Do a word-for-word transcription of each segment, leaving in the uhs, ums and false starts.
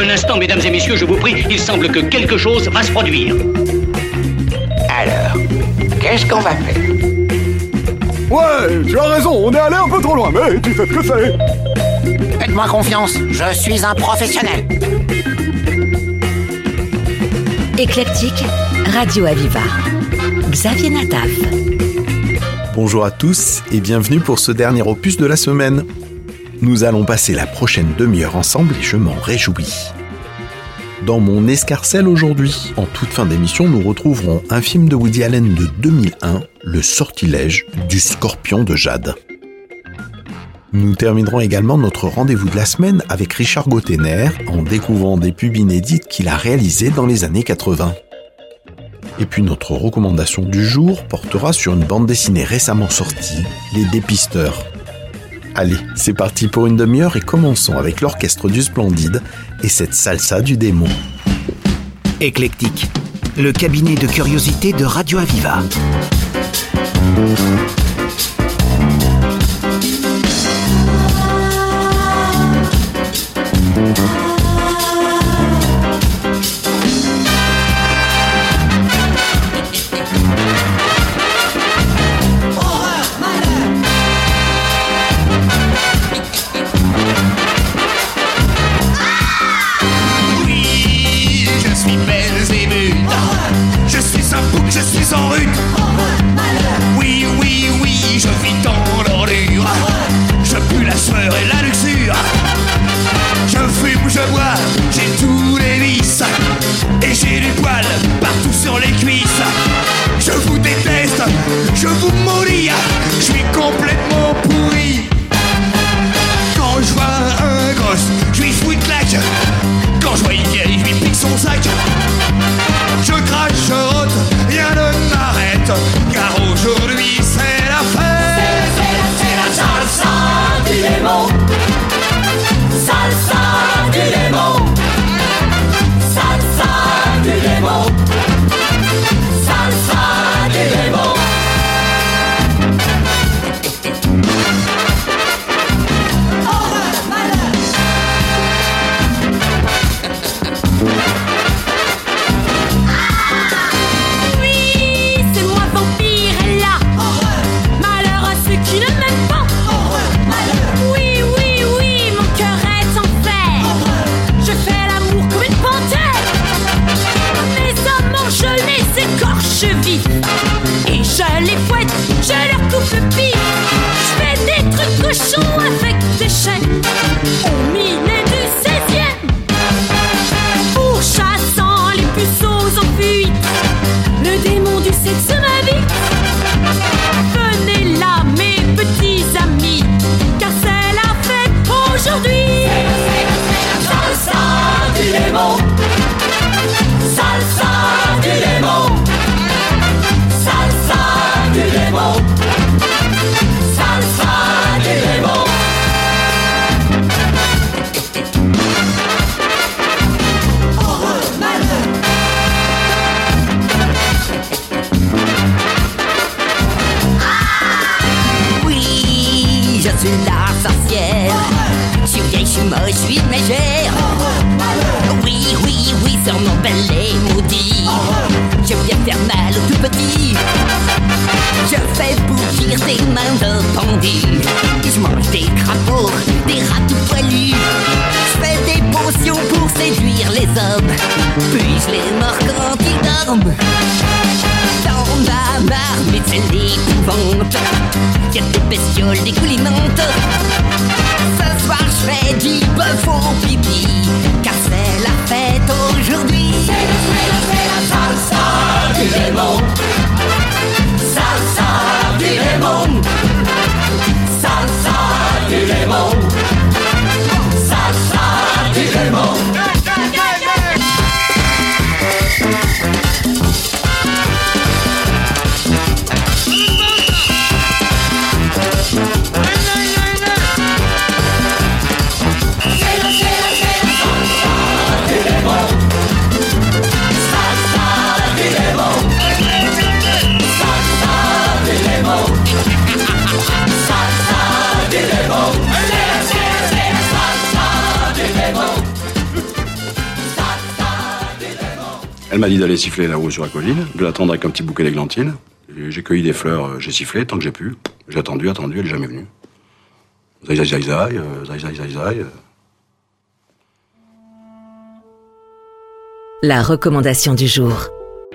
Un instant, mesdames et messieurs, je vous prie, il semble que quelque chose va se produire. Alors, qu'est-ce qu'on va faire? Ouais, tu as raison, on est allé un peu trop loin, mais tu sais ce que c'est. Faites-moi confiance, je suis un professionnel. Éclectique, Radio Aviva. Xavier Nataf. Bonjour à tous et bienvenue pour ce dernier opus de la semaine. Nous allons passer la prochaine demi-heure ensemble et je m'en réjouis. Dans mon escarcelle aujourd'hui, en toute fin d'émission, nous retrouverons un film de Woody Allen de deux mille un, Le sortilège du scorpion de jade. Nous terminerons également notre rendez-vous de la semaine avec Richard Gottener en découvrant des pubs inédites qu'il a réalisées dans les années quatre-vingts. Et puis notre recommandation du jour portera sur une bande dessinée récemment sortie, Les Dépisteurs. Allez, c'est parti pour une demi-heure et commençons avec l'orchestre du Splendide et cette salsa du démon. Éclectique, le cabinet de curiosité de Radio Aviva. Je suis en rut. Oui, oui, oui, je vis dans l'ordure. Je pue la sueur et la luxure. Je fume, je bois, j'ai tous les vices. Et j'ai du poil partout sur les cuisses. Je vous déteste, je vous maudis. Je suis complètement pourri. Quand je vois un gosse, je lui fous une claque. Quand je vois une vieille, je lui pique son sac. Je crache, je rote, rien ne m'arrête, car aujourd'hui c'est la fête. C'est, c'est la, c'est la salsa du démon. Salsa du démon. Salsa du démon. Salsa du démon. Horreur, malheur. Et je les fouette, je leur coupe le pif. Je fais des trucs cochons avec des chaînes au milieu du seizième. Pourchassant les puceaux en fuite, le démon du sexe m'invite. Venez là mes petits amis, car c'est la fête aujourd'hui. C'est la, c'est la, c'est la salsa du démon. Salsa du démon. Salsa du démon. Salsa du démon. Horreur, malheur. Oui, je suis la sorcière. Je suis vieille, je suis moche, je suis mégère. Oui, oui, oui, sur mon bel et maudit. Je viens faire mal aux tout petits. Je fais bouillir des mains de bandits. Je mange des crapauds, des rats tout poilus. Je fais des potions pour séduire les hommes. Puis je les mords quand ils dorment. Dans ma marmite c'est l'épouvante. Y'a des bestioles dégoulinantes. Ce soir je fais du bœuf au pipi, car c'est la fête aujourd'hui. C'est la, c'est la, c'est la salsa du démon. Salsa du démon. Salsa du démon. Salsa du démon. C'est la, c'est la, c'est la Elle m'a dit d'aller siffler là-haut sur la colline, de l'attendre avec un petit bouquet d'églantines. J'ai cueilli des fleurs, j'ai sifflé tant que j'ai pu. J'ai attendu, attendu, elle n'est jamais venue. Zai, zai, zai, zai, euh, zai, zai, zai, zai. euh. La recommandation du jour.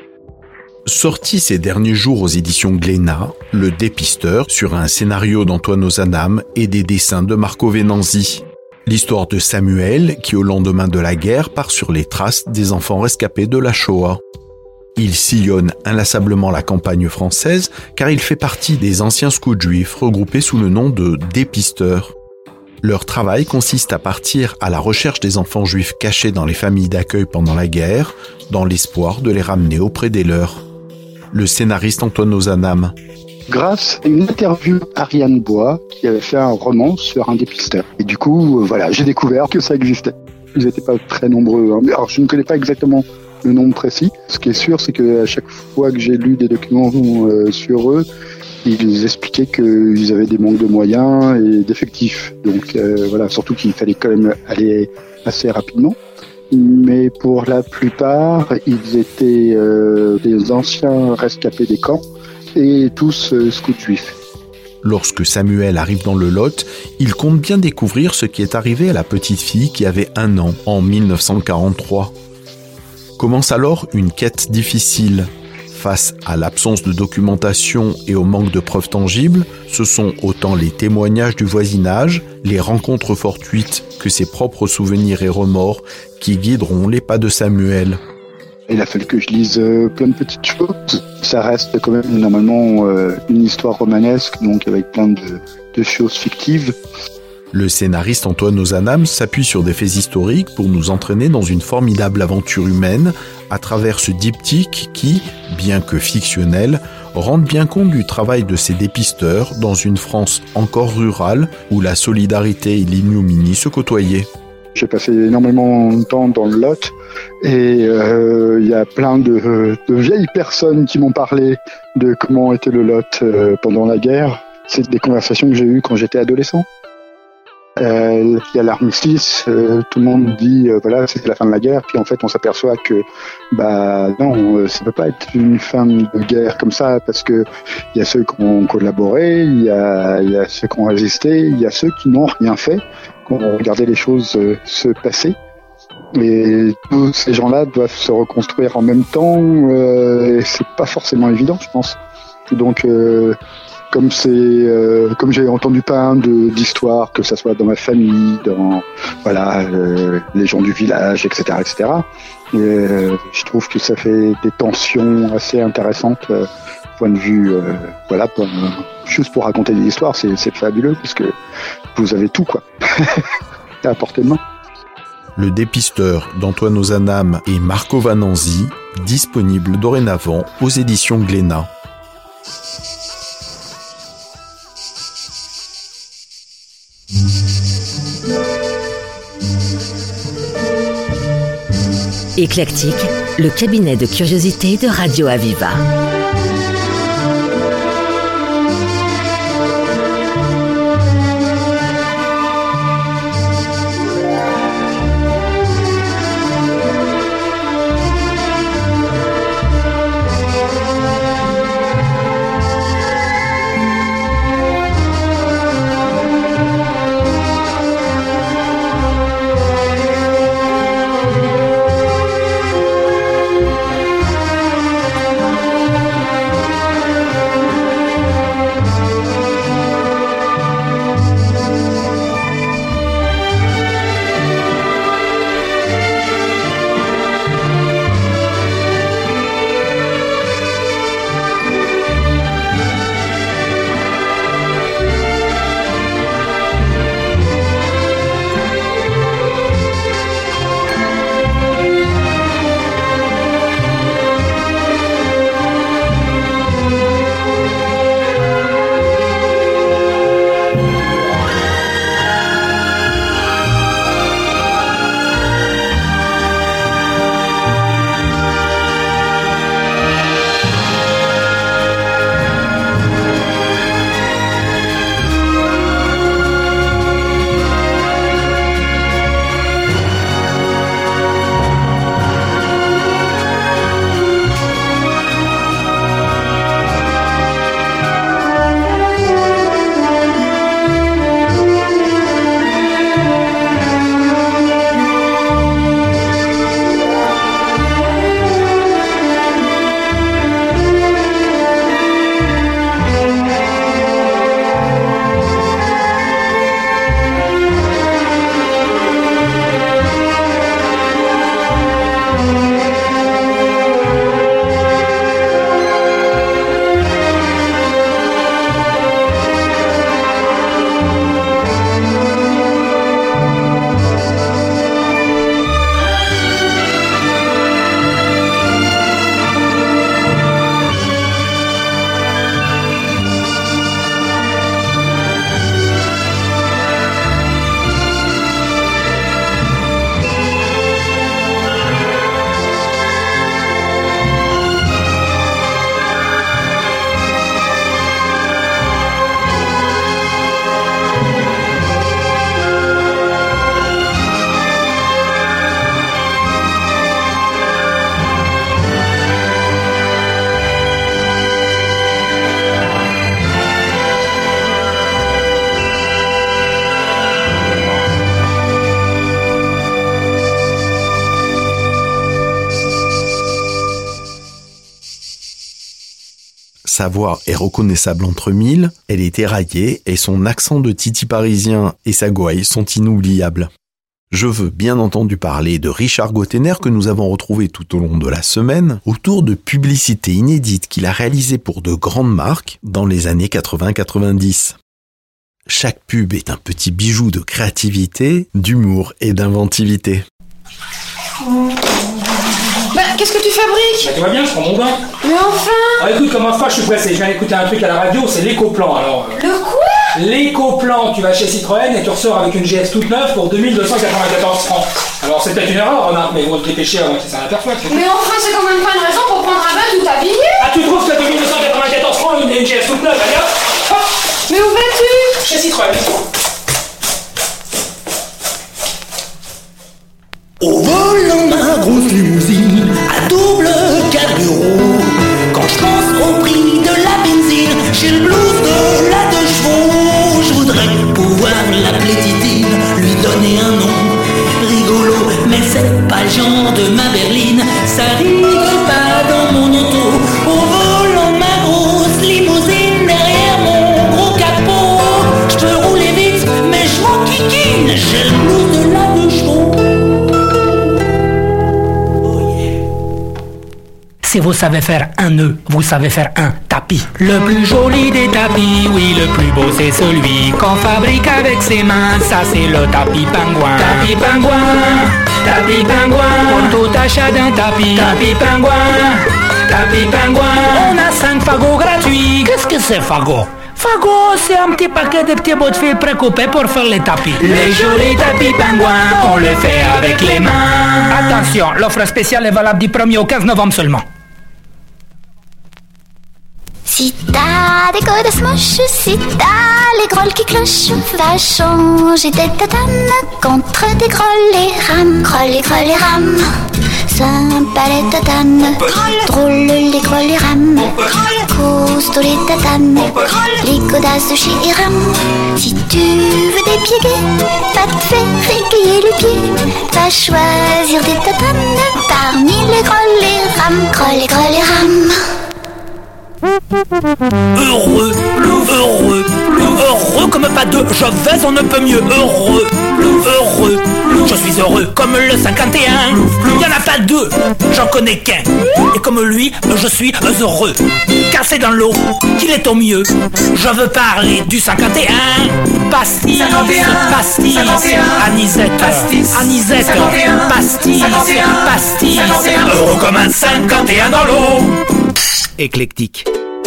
Sorti ces derniers jours aux éditions Glénat, Le Dépisteur, sur un scénario d'Antoine Ozanam et des dessins de Marco Venanzi. L'histoire de Samuel qui, au lendemain de la guerre, part sur les traces des enfants rescapés de la Shoah. Il sillonne inlassablement la campagne française car il fait partie des anciens scouts juifs regroupés sous le nom de dépisteurs. Leur travail consiste à partir à la recherche des enfants juifs cachés dans les familles d'accueil pendant la guerre, dans l'espoir de les ramener auprès des leurs. Le scénariste Antoine Ozanam. Grâce à une interview Ariane Bois qui avait fait un roman sur un dépisteur. Et du coup, euh, voilà, j'ai découvert que ça existait. Ils n'étaient pas très nombreux. Hein. Alors, je ne connais pas exactement le nombre précis. Ce qui est sûr, c'est qu'à chaque fois que j'ai lu des documents euh, sur eux, ils expliquaient qu'ils avaient des manques de moyens et d'effectifs. Donc euh, voilà, surtout qu'il fallait quand même aller assez rapidement. Mais pour la plupart, ils étaient euh, des anciens rescapés des camps et tous euh, scouts juifs. Lorsque Samuel arrive dans le Lot, il compte bien découvrir ce qui est arrivé à la petite fille qui avait un an en dix-neuf cent quarante-trois. Commence alors une quête difficile. Face à l'absence de documentation et au manque de preuves tangibles, ce sont autant les témoignages du voisinage, les rencontres fortuites que ses propres souvenirs et remords qui guideront les pas de Samuel. Il a fallu que je lise euh, plein de petites choses. Ça reste quand même normalement euh, une histoire romanesque, donc avec plein de, de choses fictives. Le scénariste Antoine Ozanam s'appuie sur des faits historiques pour nous entraîner dans une formidable aventure humaine à travers ce diptyque qui, bien que fictionnel, rend bien compte du travail de ces dépisteurs dans une France encore rurale où la solidarité et l'ignominie se côtoyaient. J'ai passé énormément de temps dans le Lot et il euh, y a plein de, de vieilles personnes qui m'ont parlé de comment était le Lot euh, pendant la guerre. C'est des conversations que j'ai eues quand j'étais adolescent. Il euh, y a l'armistice, euh, tout le monde dit euh, voilà, c'était la fin de la guerre, puis en fait on s'aperçoit que bah non, euh, ça peut pas être une fin de guerre comme ça, parce que il y a ceux qui ont collaboré, il y a, y a ceux qui ont résisté, il y a ceux qui n'ont rien fait, qui ont regardé les choses euh, se passer. Et tous ces gens-là doivent se reconstruire en même temps, euh, et c'est pas forcément évident, je pense. Donc euh, Comme c'est, euh, comme j'ai entendu plein de d'histoires, que ça soit dans ma famille, dans voilà euh, les gens du village, et cetera, et cetera. Et, euh, je trouve que ça fait des tensions assez intéressantes, euh, point de vue, euh, voilà, pour, juste pour raconter des histoires, c'est, c'est fabuleux parce que vous avez tout quoi, à portée de main. Le Dépisteur d'Antoine Ozanam et Marco Venanzi, disponible dorénavant aux éditions Glénat. Éclectique, le cabinet de curiosité de Radio Aviva. sa voix est reconnaissable entre mille, elle est éraillée et son accent de titi parisien et sa gouaille sont inoubliables. Je veux bien entendu parler de Richard Gottener que nous avons retrouvé tout au long de la semaine autour de publicités inédites qu'il a réalisées pour de grandes marques dans les années quatre-vingts quatre-vingt-dix. Chaque pub est un petit bijou de créativité, d'humour et d'inventivité. Bah, qu'est-ce que tu fabriques? Bah, tu vois bien, je prends mon bain. Mais enfin! Ah, écoute, comme un fois, je suis pressé. Je viens d'écouter un truc à la radio, c'est l'éco-plan, alors... Euh... Le quoi? L'éco-plan, tu vas chez Citroën et tu ressors avec une G S toute neuve pour deux mille deux cent quatre-vingt-quatorze francs. Alors, c'est peut-être une erreur, remarque, mais ils vont te dépêcher avant qu'ils s'en aperçoivent. Mais enfin, c'est quand même pas une raison pour prendre un bain tout habillé! Ah, tu trouves que deux mille deux cent quatre-vingt-quatorze francs une, une G S toute neuve, allez hop, hop. Mais où vas-tu? Chez Citroën. Au volant ma grosse limousine à double carburant, quand je pense au prix de la benzine, j'ai le blues de la deux chevaux. Je voudrais pouvoir l'appeler Titine, lui donner un nom rigolo, mais c'est pas le genre de ma berline, ça rigole pas dans mon auto. Au volant ma grosse limousine derrière mon gros capot, je peux rouler vite mais je m'en kikine, j'ai le blues de la deux chevaux. Si vous savez faire un nœud, vous savez faire un tapis. Le plus joli des tapis, oui, le plus beau c'est celui qu'on fabrique avec ses mains. Ça c'est le tapis pingouin. Tapis pingouin, tapis pingouin. Pour tout achat d'un tapis, tapis pingouin, tapis pingouin. On a cinq fagots gratuits. Qu'est-ce que c'est fagot? Fagot, c'est un petit paquet de petits bouts de fil précoupés pour faire les tapis. Les jolis tapis pingouins, on les fait avec les mains. Attention, l'offre spéciale est valable du premier au quinze novembre seulement. Si t'as des godasses moches, si t'as les grolles qui clochent, va changer des tatanes contre des grolles et rames. Grolles et grolles et rames, sympa les tatanes, drôle les grolles et rames, costaud les tatanes, les godasses de chez Iram. Si tu veux des pieds gays, pas te faire égayer les pieds, va choisir des tatanes parmi les grolles et rames. Grolles et grolles et rames. Heureux, heureux, heureux comme pas deux, je vais on ne peut mieux. Heureux, heureux, je suis heureux comme le cinquante et un. Il y en a pas deux, j'en connais qu'un. Et comme lui, je suis heureux, car c'est dans l'eau qu'il est au mieux. Je veux parler du cinquante et un. Pastis, pastis, anisette, anisette, pastis, pastis. Heureux comme un cinquante et un dans l'eau. Éclectique.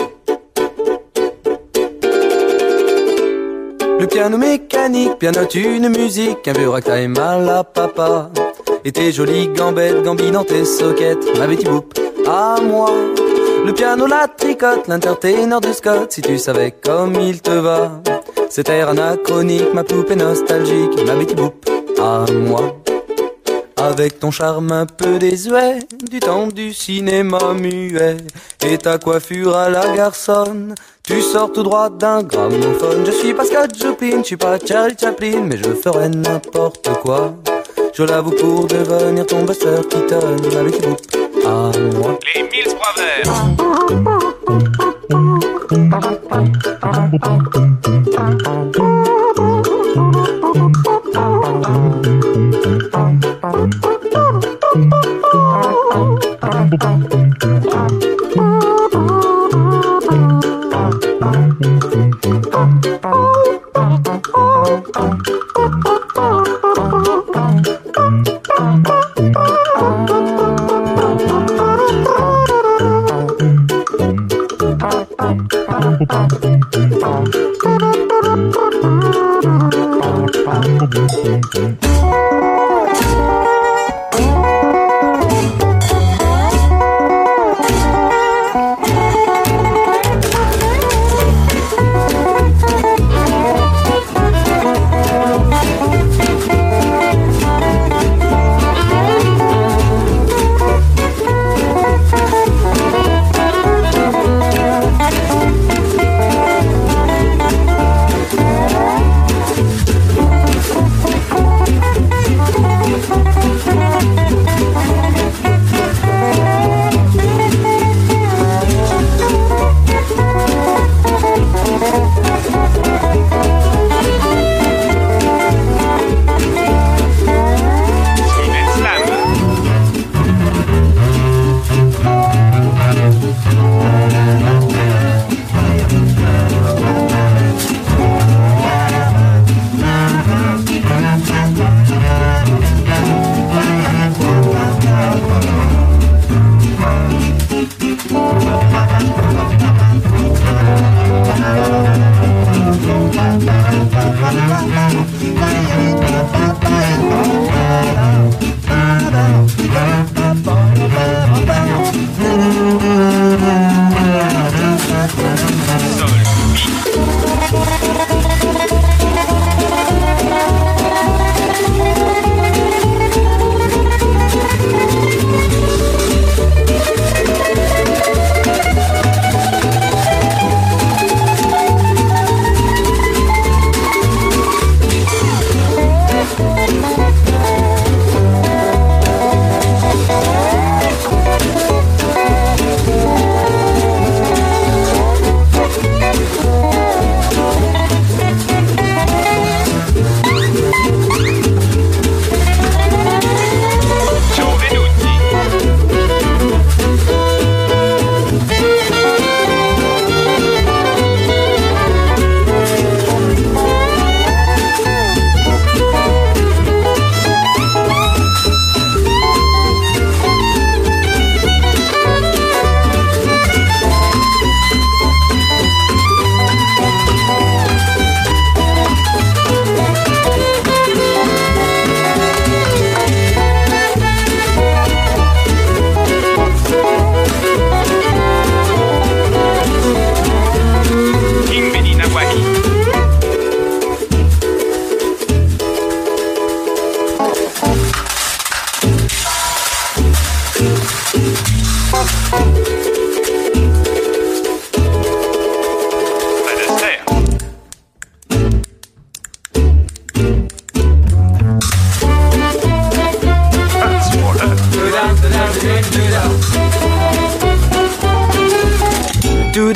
Le piano mécanique pianote une musique, un vieux ragtime à la papa. Et tes jolies gambettes gambines dans tes sockets, ma Betty Boop, à moi. Le piano la tricote, l'interténor de Scott, si tu savais comme il te va. Cet air anachronique, ma poupée nostalgique, ma Betty Boop, à moi. Avec ton charme un peu désuet, du temps du cinéma muet, et ta coiffure à la garçonne, tu sors tout droit d'un gramophone. Je suis pas Scott Joplin, je suis pas Charlie Chaplin, mais je ferais n'importe quoi. Je l'avoue pour devenir ton Buster Keaton, ma Betty Boop, à moi. Les Mills Brothers.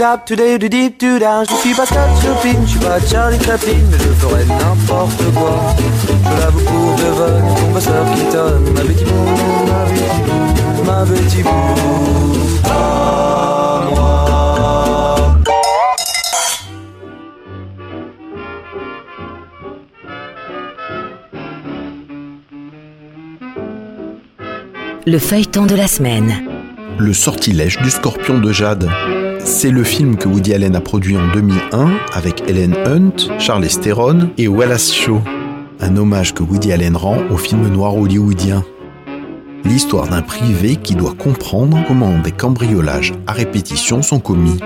dap, to day, to deep, to down. Je suis pas Scott Chopin, je suis pas Charlie Chaplin, mais je ferai n'importe quoi. Je l'avoue pour Devon, ton bosseur qui tonne. Ma Betty Boo, ma Betty Boo, ma Betty Boo. À moi. Le feuilleton de la semaine. Le sortilège du scorpion de Jade. C'est le film que Woody Allen a produit en deux mille un avec Helen Hunt, Charlize Theron et Wallace Shawn. Un hommage que Woody Allen rend au film noir hollywoodien. L'histoire d'un privé qui doit comprendre comment des cambriolages à répétition sont commis.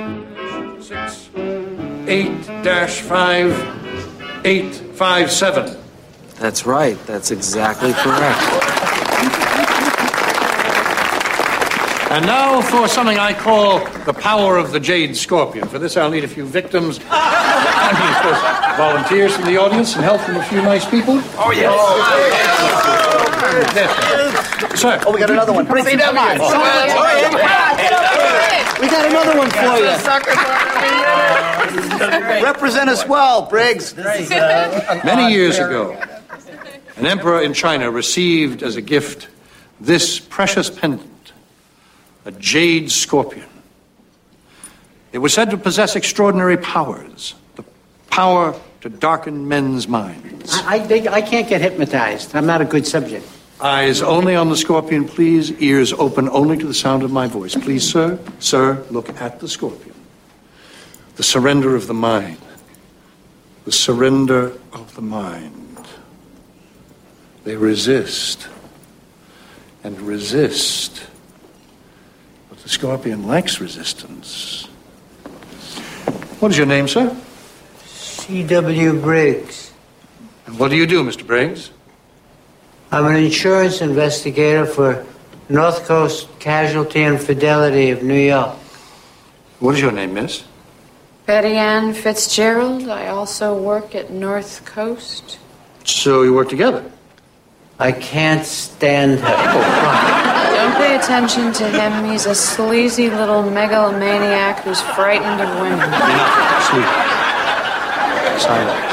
eight dash five eight five seven. That's right, that's exactly correct. And now for something I call the power of the Jade Scorpion. For this, I'll need a few victims. I mean, of course, volunteers from the audience and help from a few nice people. Oh, yes. Oh, yes. Sir. Oh, we got another one. Bring it down. We got another one for you. Represent us well, Briggs. Many years ago, an emperor in China received as a gift this precious pendant. A jade scorpion. It was said to possess extraordinary powers, the power to darken men's minds. I, I, I can't get hypnotized. I'm not a good subject. Eyes only on the scorpion, please. Ears open only to the sound of my voice. Please, sir, sir, look at the scorpion. The surrender of the mind. The surrender of the mind. They resist and resist. The scorpion lacks resistance. What is your name, sir? C W Briggs. And what do you do, Mister Briggs? I'm an insurance investigator for North Coast Casualty and Fidelity of New York. What is your name, miss? Betty Ann Fitzgerald. I also work at North Coast. So you work together? I can't stand her. Don't pay attention to him. He's a sleazy little megalomaniac who's frightened of women. Enough. Sleep. Silence.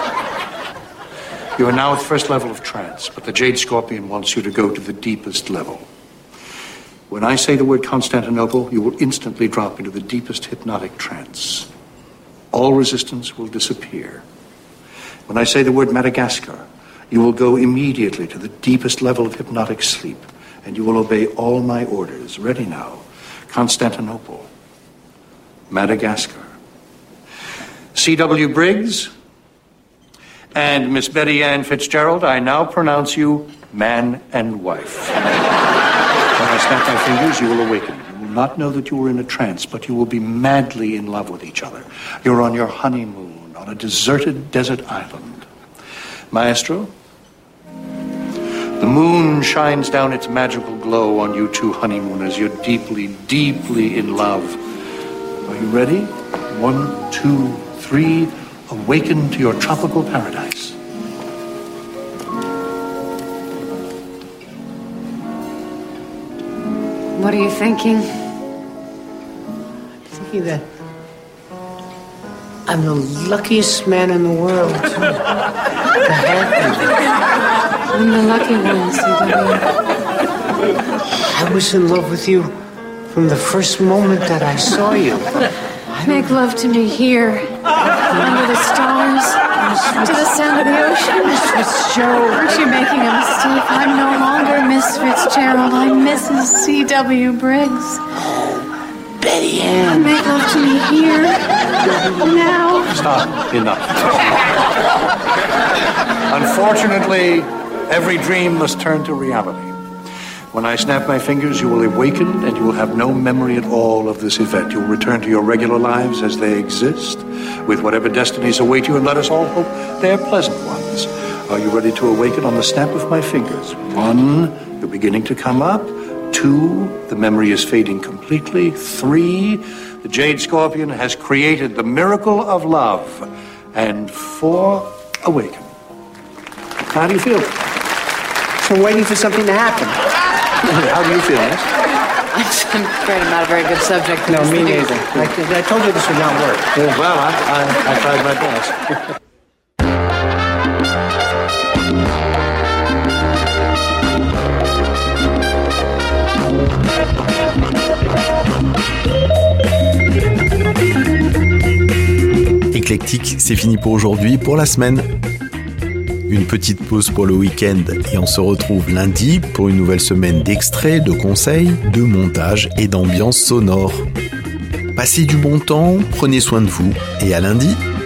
You are now at the first level of trance, but the Jade Scorpion wants you to go to the deepest level. When I say the word Constantinople, you will instantly drop into the deepest hypnotic trance. All resistance will disappear. When I say the word Madagascar, you will go immediately to the deepest level of hypnotic sleep, and you will obey all my orders. Ready now. Constantinople. Madagascar. C W Briggs and Miss Betty Ann Fitzgerald, I now pronounce you man and wife. When I snap my fingers, you will awaken. You will not know that you were in a trance, but you will be madly in love with each other. You're on your honeymoon on a deserted desert island. Maestro? The moon shines down its magical glow on you two honeymooners. You're deeply, deeply in love. Are you ready? One, two, three. Awaken to your tropical paradise. What are you thinking? I'm thinking that I'm the luckiest man in the world. To have you. I'm the lucky one, C W. I was in love with you from the first moment that I saw you. Make love to me here, under the stars, to the sound of the ocean. Miss Fitzgerald. Aren't you making a mistake? I'm no longer Miss Fitzgerald. I'm Missus C W Briggs. Betty Ann. Make love to me here, now. Stop. Enough. Unfortunately, every dream must turn to reality. When I snap my fingers, you will awaken and you will have no memory at all of this event. You will return to your regular lives as they exist, with whatever destinies await you, and let us all hope they are pleasant ones. Are you ready to awaken on the snap of my fingers? One, you're beginning to come up. Two, the memory is fading completely. Three, the Jade Scorpion has created the miracle of love. And four, awaken. How do you feel? So I'm waiting for something to happen. How do you feel, miss? I I'm afraid I'm not a very good subject. No, me neither. I, I told you this would not work. Oh, well, I, I, I tried my best. Éclectique, c'est fini pour aujourd'hui, pour la semaine. Une petite pause pour le week-end et on se retrouve lundi pour une nouvelle semaine d'extraits, de conseils, de montage et d'ambiance sonore. Passez du bon temps, prenez soin de vous et à lundi.